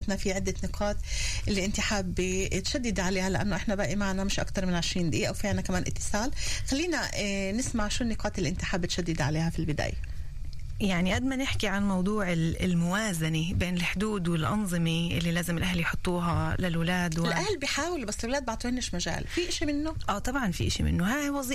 حديثنا في عدة نقاط اللي انت حابة تشدد عليها، لأنه احنا باقي معنا مش أكتر من 20 دقيقة وفي عنا كمان اتصال. خلينا نسمع شو النقاط اللي انت حابة تشدد عليها في البداية. يعني قد ما نحكي عن موضوع الموازنة بين الحدود والأنظمة اللي لازم الأهل يحطوها للأولاد الأهل بيحاولوا بس الأولاد بعطوهنش مجال. في إشي منه؟ طبعا في إشي منه.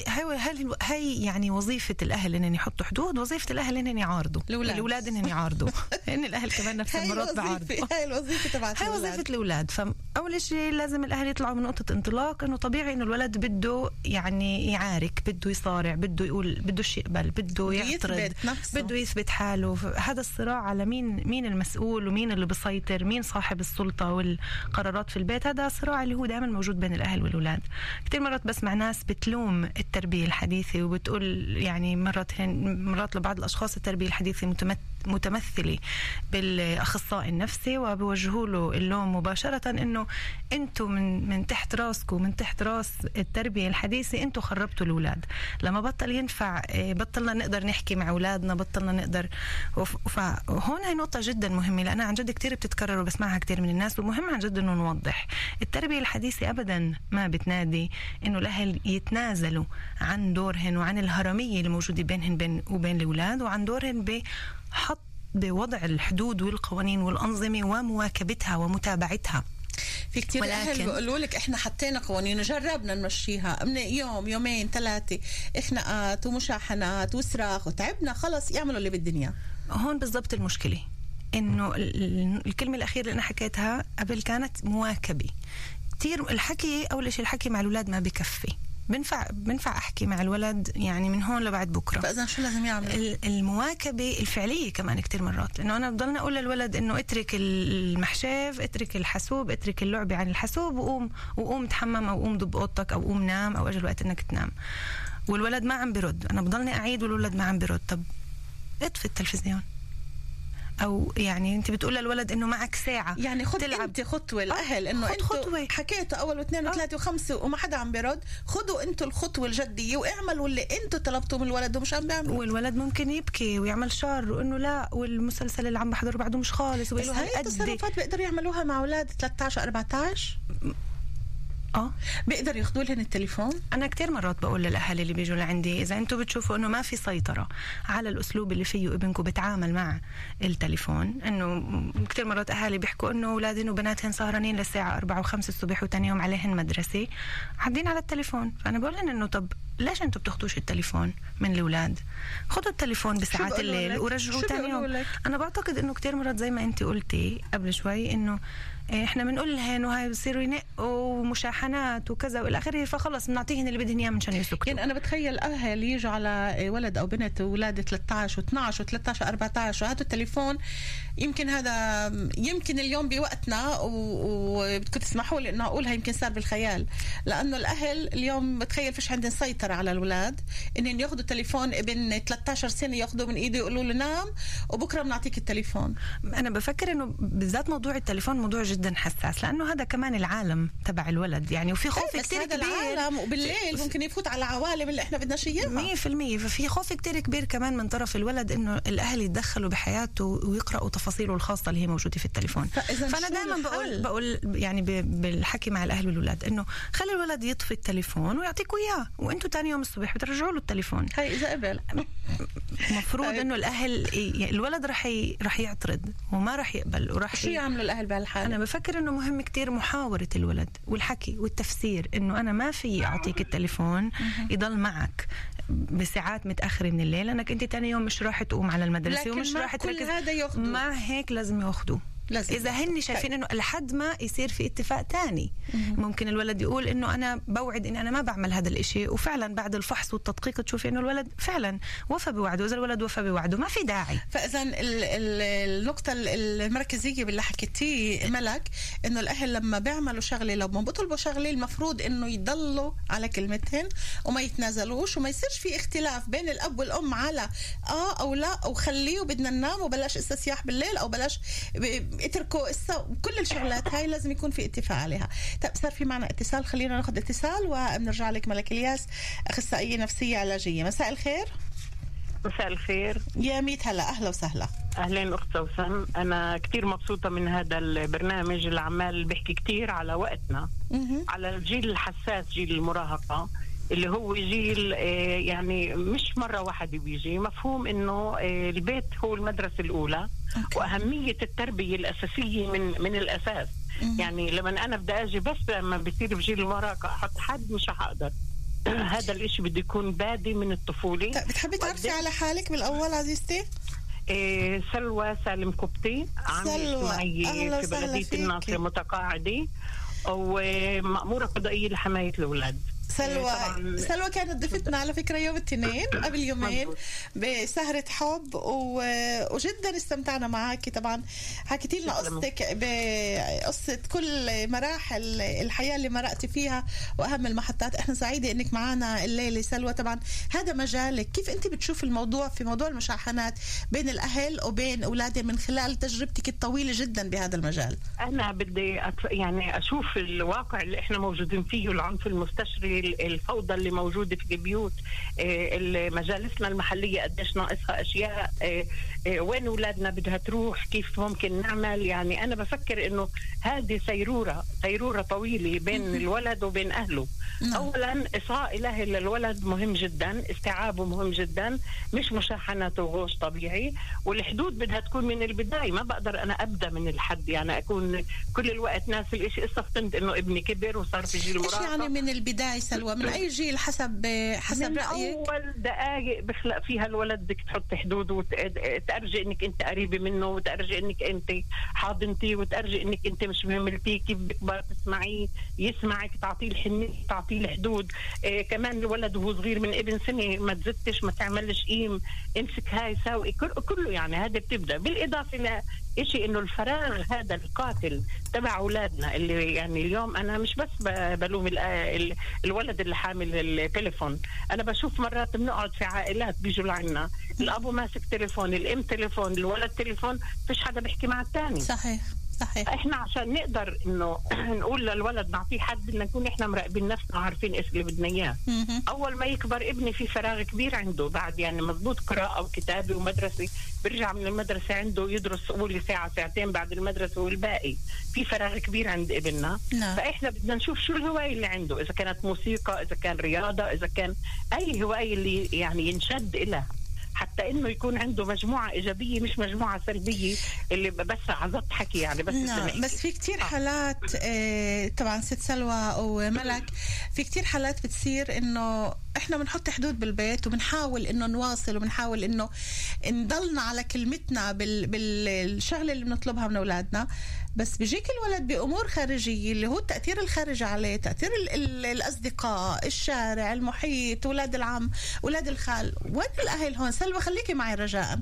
هاي يعني وظيفة الأهل إنهم يحطوا حدود، وظيفة الأهل إنهم يعارضوا الأولاد إنهم يعارضوا إن الأهل كمان نفس المرات بعارضوا. هاي الوظيفة تبعت هاي وظيفة الأولاد. فأول شيء لازم الأهل يطلعوا من نقطة انطلاق إنه طبيعي إنه الولد بده يعني يعارك، بده يصارع، بده يقول، بده يقبل، بده يعترض، بده يثبت حاله. هذا الصراع على مين المسؤول ومين اللي بيسيطر، مين صاحب السلطة والقرارات في البيت. هذا صراع اللي هو دائما موجود بين الأهل والأولاد. كتير مرات بسمع ناس بتلوم التربية الحديثة وبتقول يعني مرات لبعض الأشخاص التربية الحديثة متمثلة بالأخصائي النفسي، وبوجهوا له اللوم مباشرة إنه أنتوا من تحت راسكم، من تحت راس التربية الحديثة أنتوا خربتوا الأولاد. لما بطل ينفع، بطلنا نقدر نحكي مع أولادنا، بطلنا نقدر. فهون هاي نقطة جدا مهمة، لأنها عن جد كتير بتتكرر وبسمعها كتير من الناس، ومهم عن جد إنه نوضح. التربية الحديثة أبدا ما بتنادي إنه الأهل يتنازلوا عن دورهن وعن الهرمية اللي موجودة بينهن وبين الأولاد، وعن دورهن بوضع الحدود والقوانين والأنظمة ومواكبتها ومتابعتها. في كتير أهل بيقولوا لك إحنا حطينا قوانين وجربنا نمشيها من يوم يومين 3 إخناقات ومشاحنات وصراخ وتعبنا، خلص يعملوا اللي بالدنيا. هون بالضبط المشكلة، إنه الكلمة الأخيرة اللي أنا حكيتها قبل كانت مواكبة. كتير الحكي، أول شيء الحكي مع الأولاد ما بكفي. بنفع أحكي مع الولد يعني من هون لبعد بكرة. فإذا شو لازم يعمل؟ المواكبة الفعلية كمان كتير مرات، لأنه أنا بضلنا أقول للولد إنه اترك المحشاف، اترك الحاسوب، اترك اللعب عن الحاسوب، وقوم تحمم، أو قوم دب أوضتك، أو قوم نام، أو أجل وقت إنك تنام. والولد ما عم برد، أنا بضلني أعيد والولد ما عم برد. طب اطفي التلفزيون. أو يعني أنت بتقول للولد إنه معك ساعة يعني خد أنت خطوة. الأهل إنه أنتوا حكيتوا أول واثنين وثلاثة وخمسة وما حدا عم بيرد، خدوا أنتوا الخطوة الجدية واعملوا اللي أنتوا طلبتوا من الولد ومش عم بيعملوا. والولد ممكن يبكي ويعمل شر وإنه لا، والمسلسل اللي عم بحضره بعده مش خالص. بس هاي التصرفات بيقدروا يعملوها مع أولاد 13 14. بيقدر ياخدوا لهن التليفون. انا كتير مرات بقول للاهالي اللي بيجوا لعندي، اذا انتم بتشوفوا انه ما في سيطره على الاسلوب اللي فيه ابنكم بتعامل مع التليفون، انه كتير مرات اهالي بيحكوا انه اولادهم وبناتهم سهرانين للساعه 4 و5 الصبح وتاني يوم عليهن مدرسه قاعدين على التليفون. فانا بقول لهم انه طب ليش انتم بتاخدوش التليفون من الاولاد؟ خدوا التليفون بساعات الليل ورجعوا تاني يوم. انا بعتقد انه كتير مرات زي ما انت قلتي قبل شوي، انه احنا بنقول لهن وهي بصيروا ينقوا ومشاحنات وكذا والى اخره، فخلص بنعطيهن اللي بدهن اياه منشان يسكتوا. يعني انا بتخيل اهل يجوا على ولد او بنت اولاد 13 و12 و13 14 وهاتوا التليفون. يمكن اليوم بوقتنا وبدكم تسمحوا لي انه اقولها، يمكن صار بالخيال، لانه الاهل اليوم بتخيل فيش عندهم سيطره على الاولاد انهم ياخذوا تليفون ابن 13 سنه ياخذوه من ايده يقولوا له نام وبكره بنعطيك التليفون. انا بفكر انه بالذات موضوع التليفون موضوع جدا حساس، لانه هذا كمان العالم تبع الولد يعني، وفي خوف كتير كبير. العالم وبالليل ممكن يفوت على عوالم اللي احنا بدناش اياها 100%. ففي خوف كتير كبير كمان من طرف الولد انه الاهل يتدخلوا بحياته ويقراوا تفاصيله الخاصه اللي هي موجوده في التليفون. فانا دائما بقول يعني بالحكي مع الاهل والولاد انه خلي الولد يطفي التليفون ويعطيكوا اياه، وانتوا تاني يوم الصبح بترجعوا له التليفون. هاي اذا قبل مفروض انه الاهل الولد رح يعترض وما رح يقبل وراح شو يعملوا الاهل بهالحاله. انا بفكر انه مهم كتير محاوره الولد والحكي والتفسير، انه انا ما في اعطيك التليفون يضل معك بساعات متاخره من الليل، لانك انت تاني يوم مش راح تقوم على المدرسه ومش راح تركز. مع هيك لازم ياخدوه. إذا هن شايفين إنه لحد ما يصير في اتفاق تاني، ممكن الولد يقول إنه أنا بوعد إني أنا ما بعمل هذا الإشي، وفعلا بعد الفحص والتدقيق تشوفي إنه الولد فعلا وفى بوعده. إذا الولد وفى بوعده ما في داعي. فإذا النقطة المركزية باللي حكيتيه ملك، إنه الأهل لما بيعملوا شغلة، لما بيطلبوا شغلة، المفروض إنه يضلوا على كلمتهن وما يتنازلوش، وما يصيرش في اختلاف بين الأب والأم على أو لا، أو خليه وبدنا ننام وبلاش استسياح بالليل، أو بلاش اتركوا كل الشغلات هاي لازم يكون في اتفاق عليها. طب صار في معنا اتصال، خلينا ناخذ اتصال وبنرجع لك. ملك الياس، اخصائيه نفسيه علاجيه، مساء الخير. مساء الخير يا ميت هلا، اهلا وسهلا. أهلين أخت سوسن، أنا كتير مبسوطة من هذا البرنامج اللي عمال بيحكي كتير على وقتنا، على الجيل الحساس، جيل المراهقة اللي هو جيل يعني مش مرة واحدة بيجي. مفهوم إنه البيت هو المدرسة الأولى، وأهمية التربية الأساسية من الأساس. يعني لما أنا بدي أجي بس لما بصير بجيل المراهقة أحط حد مش هقدر. هذا الإشي بده يكون بادي من الطفولة. بتحبي تعرفي على حالك بالأول عزيزتي؟ سلوى سالم كبتي، عاملة اجتماعية في بلدية الناصر متقاعدة، ومأمورة قضائية لحماية الأولاد. سلوى كانت ضيفتنا على فكرة يوم الاثنين قبل يومين بسهرة حب، وجدا استمتعنا معاكي. طبعا حكيتي لنا قصتك بقصة كل مراحل الحياة اللي مرقتي فيها وأهم المحطات. احنا سعيدة انك معنا الليلة سلوى. طبعا هذا مجالك، كيف انت بتشوف الموضوع في موضوع المشاحنات بين الأهل وبين أولادهم من خلال تجربتك الطويلة جدا بهذا المجال؟ أنا بدي يعني أشوف الواقع اللي احنا موجودين فيه، العنف المستشري، الفوضى اللي موجودة في البيوت، مجالسنا المحلية قديش ناقصها أشياء، وين أولادنا بدها تروح، كيف ممكن نعمل. يعني أنا بفكر إنه هذه سيرورة طويلة بين الولد وبين أهله. أولا إصغاء إلهي للولد مهم جدا، استيعابه مهم جدا، مش مشاحنته وغوش طبيعي. والحدود بدها تكون من البداية، ما بقدر أنا أبدأ من الحد، يعني أكون كل الوقت ناس الإشي استفطنت إنه ابني كبر وصار في جيل مراهقة. يعني من البداية سلوى، من أي جيل حسب رأيك؟ أول دقائق بخلق فيها الولد بدك تحط حدود، وتأرجي إنك أنت قريبة منه، وتأرجي إنك أنت حاضنتي، وتأرجي إنك أنت مش مهملتي، كيف بكبر تسمعيه، يسمعك، تعطيه الحنية، تعطيه الحدود. كمان الولد وهو صغير من ابن سنة ما تزتش، ما تعملش قيم، امسك هاي ساوي، كله يعني هذا بتبدأ. بالإضافة إشي إنه الفراغ هذا القاتل تبع أولادنا، اللي يعني اليوم أنا مش بس بلوم الولد اللي حامل التليفون. أنا بشوف مرات بنقعد في عائلات بيجوا لعنا، الأبو ماسك تليفون، الأم تليفون، الولد تليفون، فيش حدا بيحكي مع الثاني. صحيح. احنا عشان نقدر انه نقول للولد نعطيه حد، بدنا نكون احنا مراقبين نفسنا وعارفين ايش اللي بدنا اياه. اول ما يكبر ابني في فراغ كبير عنده، بعد يعني مضبوط قراءه وكتابه ومدرسه، بيرجع من المدرسه عنده يدرس اول ساعه ساعتين بعد المدرسه، والباقي في فراغ كبير عند ابننا. فاحنا بدنا نشوف شو الهوايه اللي عنده، اذا كانت موسيقى، اذا كان رياضه، اذا كان اي هوايه اللي يعني ينشد إلها، حتى انه يكون عنده مجموعه ايجابيه مش مجموعه سلبيه اللي بس عزت حكي يعني بس. بس في كتير حالات طبعا ست سلوى وملك، في كتير حالات بتصير انه احنا بنحط حدود بالبيت وبنحاول انه نواصل وبنحاول انه نضلنا على كلمتنا بالشغله اللي بنطلبها من اولادنا، بس بيجيك الولد بامور خارجيه اللي هو التاثير الخارجي عليه، تاثير الاصدقاء، الشارع، المحيط، اولاد العم، اولاد الخال. وين الاهل هون؟ سلوى خليكي معي رجاء.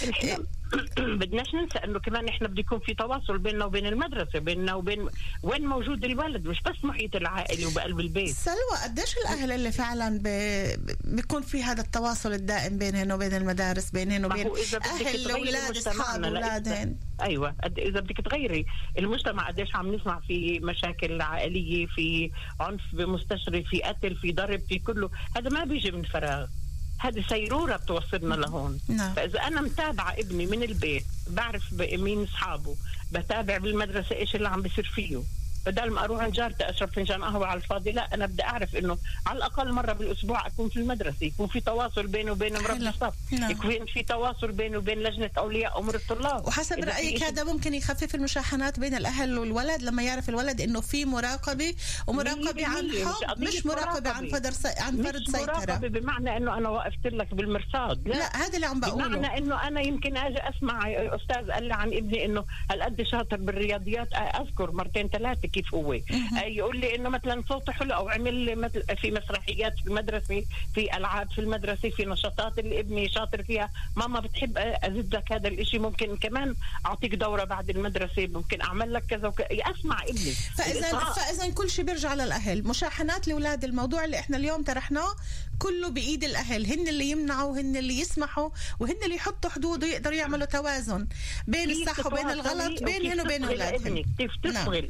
بدناش ننسى انه كمان احنا بده يكون في تواصل بيننا وبين المدرسه، بيننا وبين وين موجود الولد، مش بس محيط العائلي وبقلب البيت. سلوى قديش الاهل اللي فعلا بيكون في هذا التواصل الدائم بينهن وبين المدارس، بينهن وبين اهل الاولاد، اصحاب اولادهن؟ ايوه، اذا بدك تغيري المجتمع قديش عم نسمع في مشاكل عائليه، في عنف مستشري، في قتل، في ضرب، في كله، هذا ما بيجي من فراغ، هذه سيرورة بتوصلنا لهون. فإذا أنا متابعة ابني من البيت، بعرف مين أصحابه، بتابع بالمدرسة إيش اللي عم بيصير فيه، بدل ما أروح عند جارتي أشرب فنجان قهوة على الفاضي، لا، أنا بدي أعرف إنه على الأقل مرة بالأسبوع أكون في المدرسة، يكون في تواصل بينه وبين مربي الصف، يكون في تواصل بينه وبين لجنة أولياء أمور الطلاب. وحسب رأيك هذا ممكن يخفف المشاحنات بين الأهل والولد لما يعرف الولد إنه في مراقبة، ومراقبة عن حب، مش مراقبة عن فرض سيطرة. مراقبة بمعنى إنه أنا وقفت لك بالمرصاد، لا هذا اللي عم بقوله، بمعنى إنه أنا يمكن أجي أسمع أستاذ قال لي عن ابني إنه هالقد شاطر بالرياضيات، أذكر مرتين ثلاثة كيف هو يقول لي انه مثلا صوته حلو، او عمل مثل في مسرحيات في المدرسه، في العاب في المدرسه، في نشاطات اللي ابني شاطر فيها، ماما بتحب ازيد لك هذا الاشي، ممكن كمان اعطيك دوره بعد المدرسه، ممكن اعمل لك كذا اسمع ابني. فاذا كل شيء بيرجع للاهل، مشاحنات لاولاد، الموضوع اللي احنا اليوم طرحناه كله بايد الاهل، هن اللي يمنعوا، هن اللي يسمحوا، وهن اللي يحطوا حدود ويقدروا يعملوا توازن بين الصح وبين الغلط بينهن وبين اولادهم. كيف تشغل اصغاء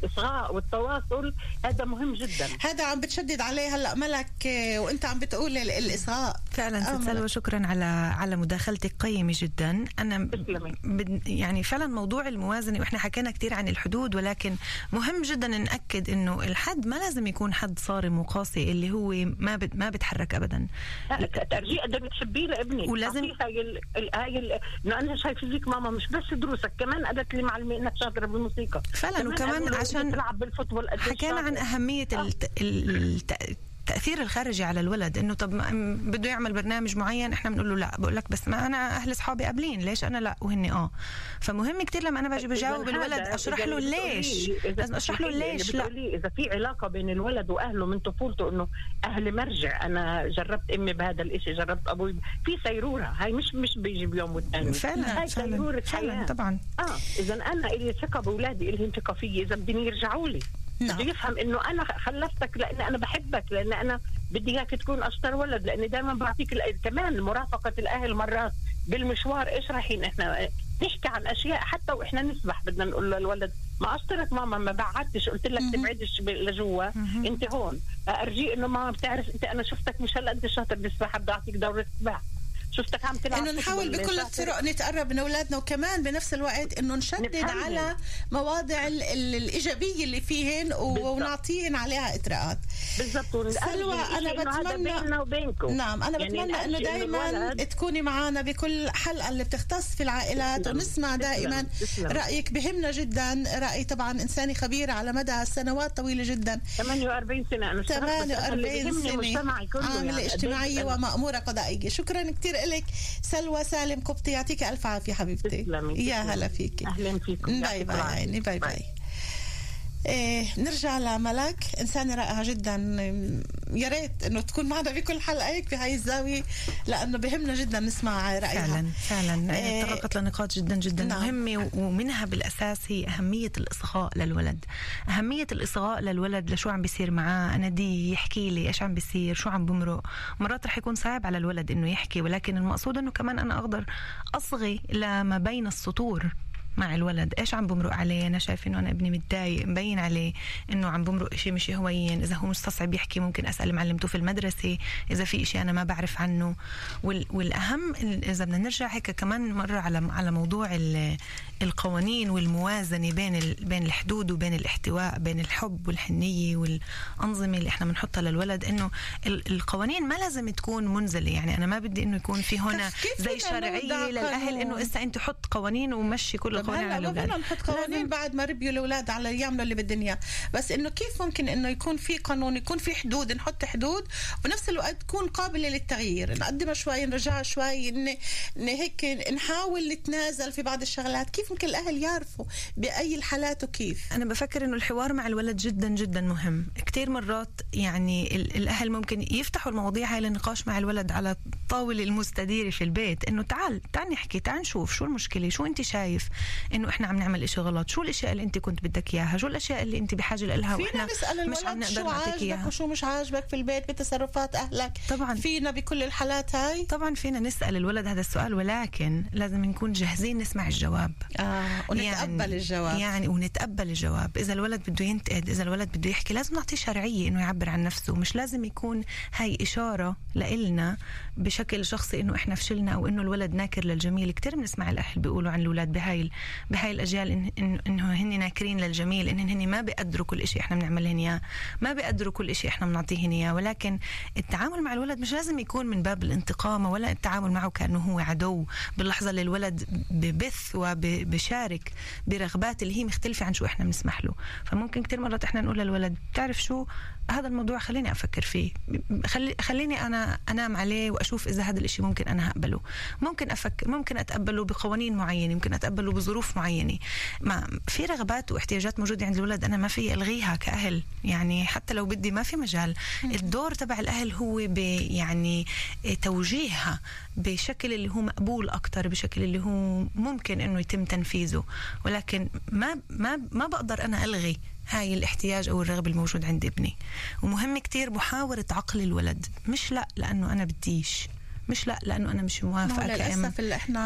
الإصغاء والتواصل هذا مهم جدا. هذا عم بتشدد عليه هلا ملك وانت عم بتقول الإصغاء. فعلا سلوى شكرا على مداخلتك قيمة جدا. أنا يعني فعلا موضوع الموازنة، وإحنا حكينا كتير عن الحدود، ولكن مهم جدا نأكد إنه الحد ما لازم يكون حد صارم وقاسي اللي هو ما بتحرك أبدا. ترجيع قد بتحبيه لابني، ولازم هاي أنا شايفة فيك ماما مش بس دروسك، كمان قالت لي معلمة إنك شاطرة بالموسيقى فعلا، وكمان عشان تلعب بالفوتبول. حكينا عن أهمية التأثير الخارجي على الولد، إنه طب بده يعمل برنامج معين إحنا بنقول له لا، بقول لك بس ما أنا أهل أصحابي قابلين، ليش أنا لا وهن فمهم كتير لما أنا باجي بجاوب الولد أشرح له ليش، لازم أشرح له ليش. لا إذا في علاقة بين الولد وأهله من طفولته، إنه أهلي مرجع، أنا جربت أمي بهذا الإشي، جربت أبوي، في سيرورة هاي مش بيجي بيوم والتاني. فعلا سيرورة فعلا طبعا. إذا أنا إلي ثقة بأولادي، إلهم ثقة فيي، إذا بدهم يرجعوا لي بده يفهم انه انا خلفتك لان انا بحبك، لان انا بدي اياك تكون اشطر ولد، لاني دائما بعطيك كمان مرافقه الاهل مرات بالمشوار. ايش رايحين احنا نحكي عن اشياء حتى واحنا نسبح، بدنا نقول للولد ما اشطرك ماما، ما بعدتش، قلت لك تبعدش لجوا، انت هون ارجي انه ما بتعرف انت، انا شفتك مش هلا انت شاطر بالسباحه، بدي اعطيك دوره سباحه، شفتك عم تلعب. انه نحاول بكل الطرق نتقرب من اولادنا، وكمان بنفس الوقت انه نشدد على مواضع الايجابيه اللي فيهن ونعطيهن عليها اطراءات. بالضبط. سلوى انا بتمنى نعم انا بتمنى انه دائما تكوني معنا بكل حلقه اللي بتختص في العائلات، ونسمع دائما رايك، بهمنا جدا راي طبعا انساني خبير على مدى سنوات طويله جدا. 48 سنه انا 48 سنه عامله اجتماعيه ومأموره قضائيه. شكرا كثير لك سلوى سالم قبطي، يعطيك الف عافيه حبيبتي. يا هلا فيكي. اهلا فيكم. باي باي عيني، باي باي. نرجع لملك، إنسانة رائعة جدا، يا ريت إنه تكون معنا بكل حلقة هيك في هاي الزاوية، لأنه بهمنا جدا نسمع رأيها. فعلا تطرقت لنقاط جدا جدا مهمة، ومنها بالأساس هي أهمية الإصغاء للولد. أهمية الإصغاء للولد، لشو عم بيصير معاه، أنا دي يحكي لي إيش عم بيصير، شو عم بمرق. مرات رح يكون صعب على الولد إنه يحكي، ولكن المقصود إنه كمان أنا أقدر أصغي لما بين السطور مع الولد، ايش عم بمرق عليه، انا شايف انه انا ابني متضايق، مبين عليه انه عم بمرق شيء مش هوين، اذا هو مستصعب يحكي ممكن اسال معلمته في المدرسه اذا في شيء انا ما بعرف عنه. والاهم اذا بدنا نرجع هيك كمان مره على موضوع القوانين والموازنه بين الحدود وبين الاحتواء، بين الحب والحنيه والانظمه اللي احنا بنحطها للولد، انه القوانين ما لازم تكون منزله. يعني انا ما بدي انه يكون في هنا زي شرعيه للاهل انه اسا انت حط قوانين ومشي كل هلا ما بدنا نحط قوانين بعد ما ربيوا الاولاد على يعملوا اللي بدهم اياه، بس انه كيف ممكن انه يكون في قانون، يكون في حدود، نحط حدود وبنفس الوقت تكون قابله للتغيير، نقدمها شوي نرجعها شوي، هيك نحاول نتنازل في بعض الشغلات. كيف ممكن الاهل يعرفوا باي الحالات وكيف؟ انا بفكر انه الحوار مع الولد جدا جدا مهم. كتير مرات يعني الاهل ممكن يفتحوا المواضيع هاي للنقاش مع الولد على الطاوله المستديره في البيت، انه تعال نحكي، تعال نشوف شو المشكله، شو انت شايف انه احنا عم نعمل اشي غلط، شو الاشياء اللي انت كنت بدك اياها، شو الاشياء اللي انت بحاجه لها واحنا مش عم نقدر نعطيك اياها، وشو مش عاجبك في البيت بتصرفات اهلك. طبعا فينا بكل الحالات هاي، طبعا فينا نسال الولد هذا السؤال، ولكن لازم نكون جاهزين نسمع الجواب ونتقبل الجواب. يعني ونتقبل الجواب. اذا الولد بده ينتقد، اذا الولد بده يحكي، لازم نعطيه شرعيه انه يعبر عن نفسه، مش لازم يكون هاي اشاره لإلنا بشكل شخصي انه احنا فشلنا او انه الولد ناكر للجميل. كتير بنسمع الاهل بيقولوا عن الاولاد بهاي الاجيال انه هن ناكرين للجميل، هن ما بيقدروا كل شيء احنا بنعملهن اياه، ما بيقدروا كل شيء احنا بنعطيهن اياه. ولكن التعامل مع الولد مش لازم يكون من باب الانتقام، ولا التعامل معه كانه هو عدو. باللحظه اللي الولد ببث وبشارك برغبات اللي هي مختلفه عن شو احنا بنسمح له، فممكن كتير مرات احنا نقول للولد بتعرف شو هذا الموضوع، خليني افكر فيه، خليني انا انام عليه واشوف اذا هذا الاشي ممكن انا هقبله، ممكن اتقبله بقوانين معينه، ممكن اتقبله بظروف معينه. ما في رغبات واحتياجات موجوده عند الولد انا ما في الغيها كاهل، يعني حتى لو بدي ما في مجال. الدور تبع الاهل هو يعني توجيهها بشكل اللي هو مقبول اكتر، بشكل اللي هو ممكن انه يتم تنفيذه، ولكن ما بقدر انا الغي هاي الاحتياج او الرغبه الموجود عند ابني. ومهم كتير محاوره عقل الولد، مش لا لانه انا بديش، مش لا لانه انا مش موافقه. للاسف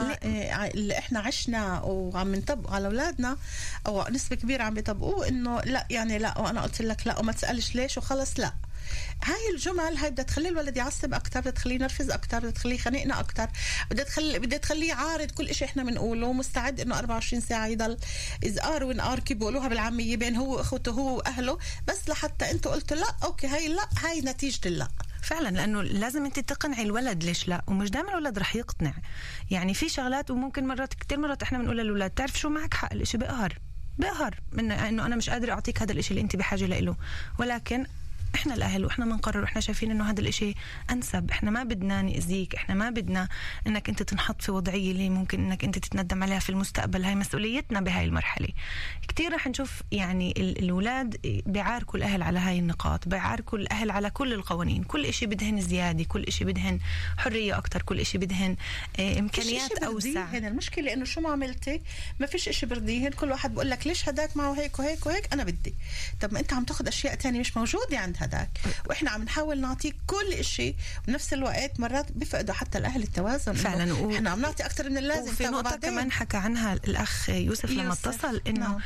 اللي احنا عشنا وعم نطبق على اولادنا او نسبه كبيره عم يطبقوه انه لا يعني لا وانا قلت لك لا وما تسالش ليش وخلص. لا، هاي الجمل هاي بدها تخلي الولد يعصب اكثر، بدها تخليه ينرفز اكثر، بدها تخليه يخانقنا اكثر، بدها تخليه يعارض كل إشي احنا بنقوله، مستعد انه 24 ساعه يضل ازقار وانقار كي بيقولوها بالعاميه بين هو واخوته هو واهله، بس لحتى انتوا قلتوا لا اوكي هاي نتيجه اللا. فعلا، لانه لازم انت تقنعي الولد ليش لا، ومش دائما الولد رح يقتنع. يعني في شغلات وممكن كتير مرات احنا بنقول للولاد تعرف شو معك حق، الاشي بقهر من انه انا مش قادره اعطيك هذا الاشي اللي انت بحاجه له، ولكن احنا الاهل واحنا بنقرر واحنا شايفين انه هذا الاشي انسب. احنا ما بدنا نأذيك، احنا ما بدنا انك انت تنحط في وضعيه اللي ممكن انك انت تتندم عليها في المستقبل. هاي مسؤوليتنا بهاي المرحله. كتير رح نشوف يعني الاولاد بيعاركوا الاهل على هاي النقاط، بيعاركوا الاهل على كل القوانين، كل اشي بدهن زياده، كل اشي بدهن حريه اكتر، كل اشي بدهن امكانيات اوسع. هنا المشكله انه شو ما عملتي ما فيش اشي برضيهن، كل واحد بقول لك ليش هداك معه هيك وهيك وهيك، انا بدي. طب ما انت عم تاخذ اشياء تانية مش موجوده عند هداك، واحنا عم نحاول نعطيك كل إشي، بنفس الوقت مرات بيفقدوا حتى الاهل التوازن فعلا. احنا عم نعطي اكثر من اللازم. وفي نقطه كمان حكى عنها الاخ يوسف لما اتصل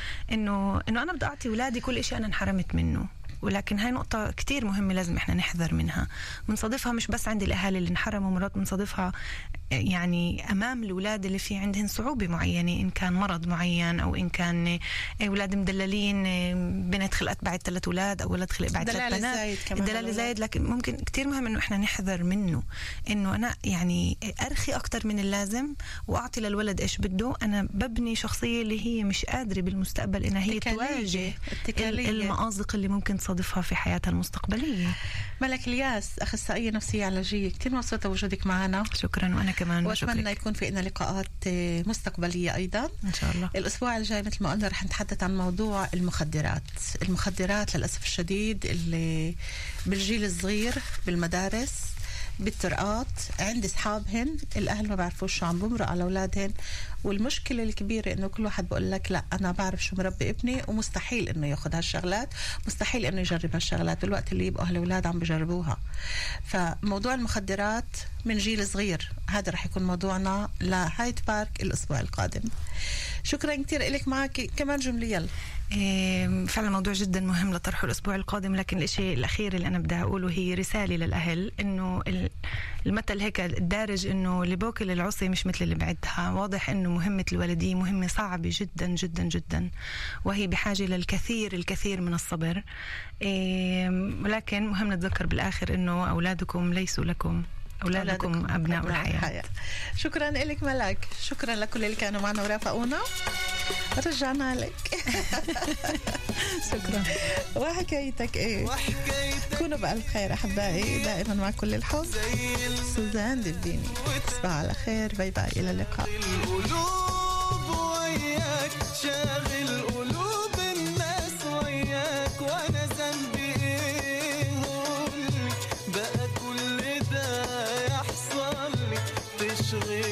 انه انا بدي اعطي اولادي كل إشي انا انحرمت منه، ولكن هاي نقطة كتير مهمة لازم احنا نحذر منها. بنصادفها مش بس عند الأهالي اللي انحرموا، مرات بنصادفها يعني أمام الأولاد اللي في عندهم صعوبة معينة، إن كان مرض معين أو إن كان أولاد مدللين، بنت خلقت بعد 3 أولاد أو ولد خلق بعد 3 بنات، الدلالة زايد. لكن ممكن كتير مهم إنه إحنا نحذر منه، إنه أنا يعني أرخي أكتر من اللازم وأعطي للولد إيش بده. أنا ببني شخصية اللي هي مش قادرة بالمستقبل إنها هي تواجه المآزق اللي ممكن تصادفها في حياتها المستقبلية. ملك الياس، أخصائية نفسية علاجية، كتير مبسوطة وجودك معنا. شكرا. وأنا كمان وأتمنى يكون في لنا لقاءات مستقبلية أيضا إن شاء الله. الأسبوع الجاي مثل ما قلنا رح نتحدث عن موضوع المخدرات للأسف الشديد اللي بالجيل الصغير بالمدارس بالطرقات عند أصحابهن، الأهل ما بعرفوش شو عم بمرق على أولادهن. والمشكلة الكبيرة إنه كل واحد بقول لك لا أنا بعرف شو مربي ابني، ومستحيل إنه ياخد هالشغلات، مستحيل إنه يجرب هالشغلات بالوقت اللي يبقوا هالأولاد عم بجربوها. فموضوع المخدرات من جيل صغير هذا رح يكون موضوعنا لهايد بارك الأسبوع القادم. شكرا كتير لك معك كمان جمليا. فعلا موضوع جدا مهم لطرحه الأسبوع القادم، لكن الشيء الأخير اللي أنا بدي أقوله هي رسالة للأهل، إنه المثل هيك الدارج إنه اللي بوكل العصي مش مثل اللي بعدها. واضح إنه مهمة الوالدية مهمة صعبة جدا جدا جدا، وهي بحاجة الكثير من الصبر، ولكن مهم نتذكر بالآخر إنه أولادكم ليسوا لكم، أولادكم أبناء الحياة. شكرا لك ملك، شكرا لكل اللي كانوا معنا ورافقونا، رجعنا لك. شكرا. وحكايتك ايه؟ كونوا بألف خير أحبائي، دائما مع كل الحب. سوزان دبيني، تصبحوا على خير، باي باي، إلى اللقاء. القلوب وياك شاغل قلوب الناس وياك، وأنا ذنبي إيه بقى كل ده يحصل لي تشغل